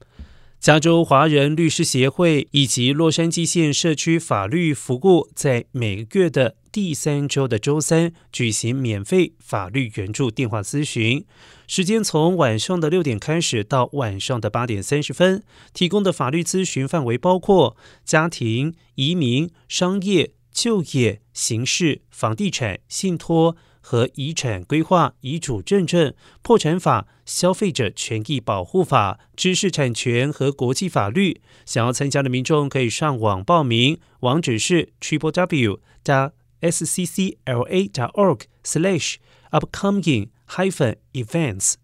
加州华人律师协会以及洛杉矶县社区法律服务在每个月的第3周的周三举行免费法律援助电话咨询，时间从晚上的6点开始到晚上的8点30分，提供的法律咨询范围包括家庭、移民、商业、就业、刑事、房地产、信托和遗产规划、遗嘱认证、破产法、消费者权益保护法、知识产权和国际法律。想要参加的民众可以上网报名，网址是 www.sccla.org/upcoming-events。